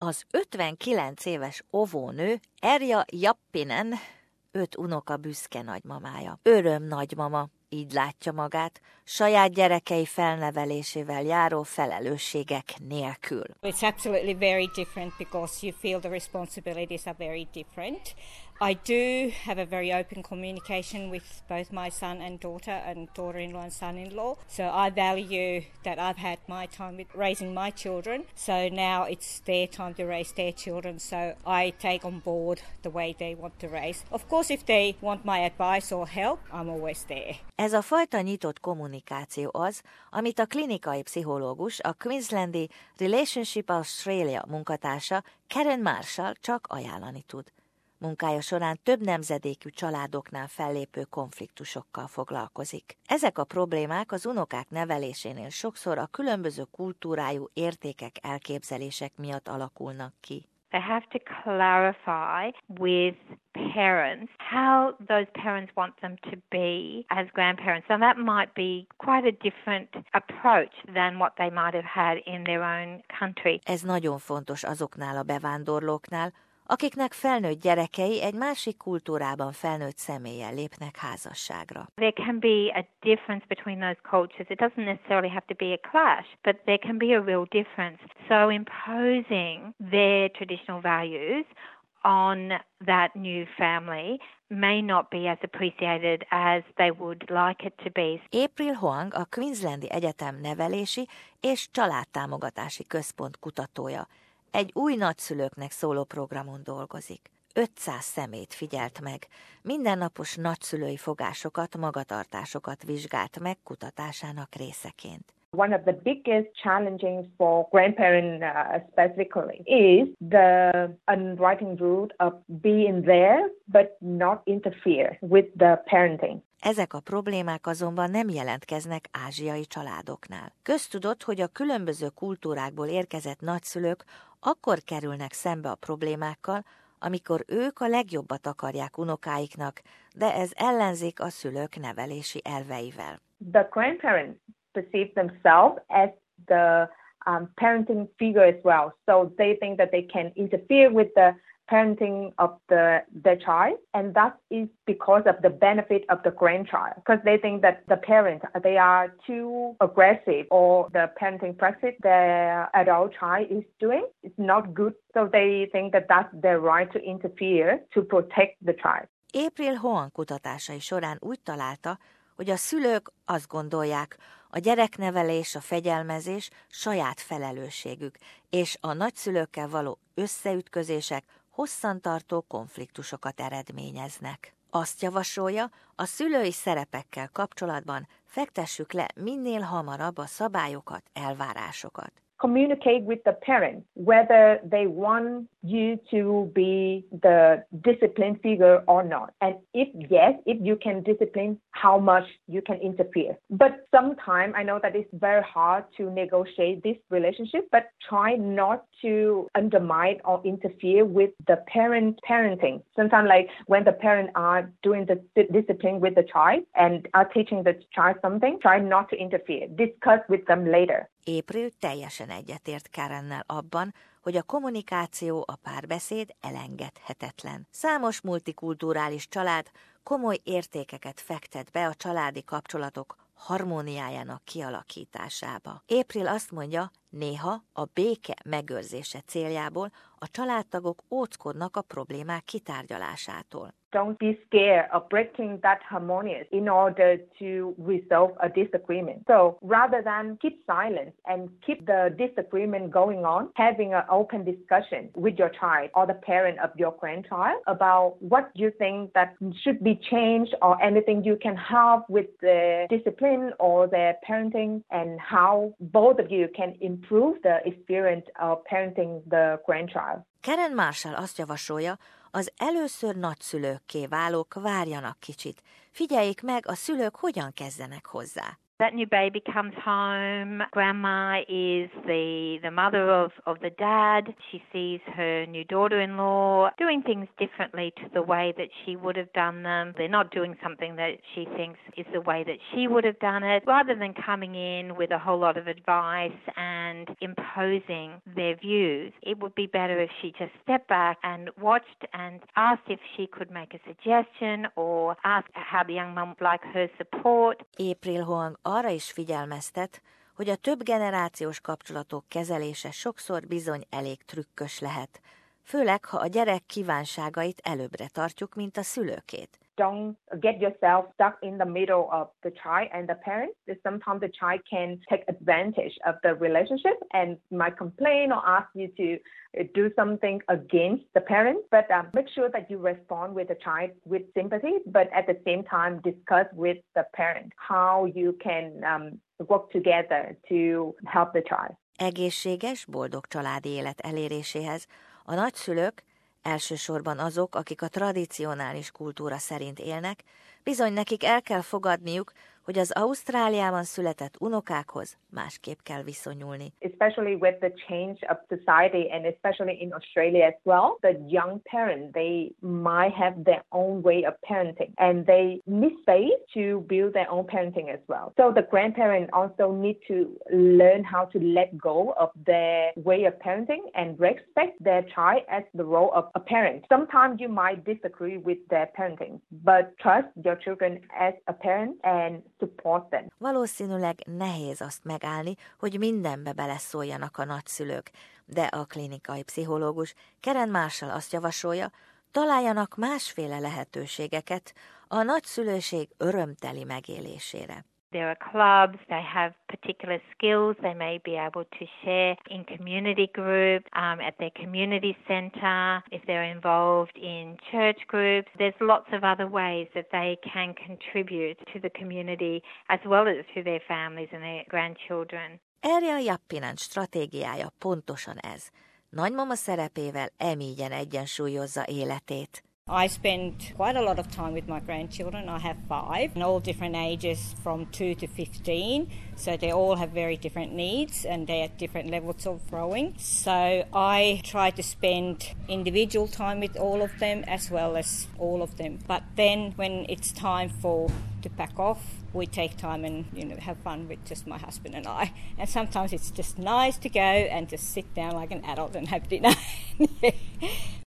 Az 59 éves óvónő Erja Jappinen 5 unoka büszke nagymamája. Öröm nagymama, így látja magát, saját gyerekei felnevelésével járó felelősségek nélkül. It's absolutely very different because you feel the responsibilities are very different. I do have a very open communication with both my son and daughter-in-law and son-in-law. So I value that I've had my time with raising my children. So now it's their time to raise their children. So I take on board the way they want to raise. Of course, if they want my advice or help, I'm always there. Ez a fajta nyitott kommunikáció az, amit a klinikai pszichológus, a Queenslandi Relationship Australia munkatársa Karen Marshall csak ajánlani tud. Munkája során több nemzedékű családoknál fellépő konfliktusokkal foglalkozik. Ezek a problémák az unokák nevelésénél sokszor a különböző kultúrájú értékek, elképzelések miatt alakulnak ki. They have to clarify with parents how those parents want them to be as grandparents. And that might be quite a different approach than what they might have had in their own country. Ez nagyon fontos azoknál a bevándorlóknál, akiknek felnőtt gyerekei egy másik kultúrában felnőtt személlyel lépnek házasságra. There can be a difference between those cultures. It doesn't necessarily have to be a clash, but there can be a real difference. So imposing their traditional values on that new family may not be as appreciated as they would like it to be. April Huang a Queenslandi Egyetem nevelési és családtámogatási központ kutatója. Egy új nagyszülőknek szóló programon dolgozik. 500 személyt figyelt meg, mindennapos nagyszülői fogásokat, magatartásokat vizsgált meg kutatásának részeként. One of the biggest challenges for grandparents specifically is the unwritten rule of being there but not interfere with the parenting. Ezek a problémák azonban nem jelentkeznek ázsiai családoknál. Köztudott, hogy a különböző kultúrákból érkezett nagyszülők akkor kerülnek szembe a problémákkal, amikor ők a legjobbat akarják unokáiknak, de ez ellenzik a szülők nevelési elveivel. The grandparents perceive themselves as the parenting figure as well. So they think that they can interfere with the parenting of their child, and that is because of the benefit of the grandchild. Because they think that the parents, they are too aggressive, or the parenting practice their adult child is doing is not good. So they think that that's their right to interfere to protect the child. April Huang kutatásai során úgy találta, hogy a szülők azt gondolják, a gyereknevelés, a fegyelmezés saját felelősségük, és a nagyszülőkkel való összeütközések hosszantartó konfliktusokat eredményeznek. Azt javasolja, a szülői szerepekkel kapcsolatban fektessük le minél hamarabb a szabályokat, elvárásokat. Communicate with the parents whether they want you to be the discipline figure or not. And if yes, if you can discipline, how much you can interfere. But sometimes I know that it's very hard to negotiate this relationship, but try not to undermine or interfere with the parenting. Sometimes like when the parents are doing the discipline with the child and are teaching the child something, try not to interfere. Discuss with them later. April teljesen egyetért Karennel abban, hogy a kommunikáció, a párbeszéd elengedhetetlen. Számos multikulturális család komoly értékeket fektet be a családi kapcsolatok harmóniájának kialakításába. April azt mondja, néha a béke megőrzése céljából a családtagok óckodnak a problémák kitárgyalásától. Don't be scared of breaking that harmonious in order to resolve a disagreement. So rather than keep silence and keep the disagreement going on, having an open discussion with your child or the parent of your grandchild about what you think that should be changed or anything you can help with the discipline or the parenting, and how both of you can improve the experience of parenting the grandchild. Karen Marshall azt javasolja, az először nagyszülőkké válók várjanak kicsit. Figyeljék meg, a szülők hogyan kezdenek hozzá. That new baby comes home. Grandma is the mother of the dad. She sees her new daughter-in-law doing things differently to the way that she would have done them. They're not doing something that she thinks is the way that she would have done it. Rather than coming in with a whole lot of advice and imposing their views, it would be better if she just stepped back and watched and asked if she could make a suggestion or ask how the young mum would like her support. April Huang arra is figyelmeztet, hogy a több generációs kapcsolatok kezelése sokszor bizony elég trükkös lehet, főleg ha a gyerek kívánságait előbbre tartjuk, mint a szülőkét. Don't get yourself stuck in the middle of the child and the parents. Sometimes the child can take advantage of the relationship and might complain or ask you to do something against the parents. But make sure that you respond with the child with sympathy, but at the same time discuss with the parent how you can work together to help the child. Egészséges, boldog családi élet eléréséhez a nagyszülők, elsősorban azok, akik a tradicionális kultúra szerint élnek, bizony nekik el kell fogadniuk, hogy az Ausztráliában született unokákhoz másképp kell viszonyulni. Especially with the change of society and especially in Australia as well, the young parents, they might have their own way of parenting and they need space to build their own parenting as well. So the grandparents also need to learn how to let go of their way of parenting and respect their child as the role of a parent. Sometimes you might disagree with their parenting, but trust your children as a parent and support them. Valószínűleg nehéz azt megállni, hogy mindenbe beleszóljanak a nagyszülők, de a klinikai pszichológus Karen Marshall azt javasolja, találjanak másféle lehetőségeket a nagyszülőség örömteli megélésére. There are clubs, they have particular skills they may be able to share in community groups, at their community centre, if they're involved in church groups. There's lots of other ways that they can contribute to the community as well as to their families and their grandchildren. Erja Jappinen stratégiája pontosan ez. Nagymama szerepével emígyen egyensúlyozza életét. I spend quite a lot of time with my grandchildren. I have 5, and all different ages from 2 to 15. So they all have very different needs and they're at different levels of growing. So I try to spend individual time with all of them as well as all of them. But then when it's time to pack off, we take time and have fun with just my husband and I. And sometimes it's just nice to go and just sit down like an adult and have dinner.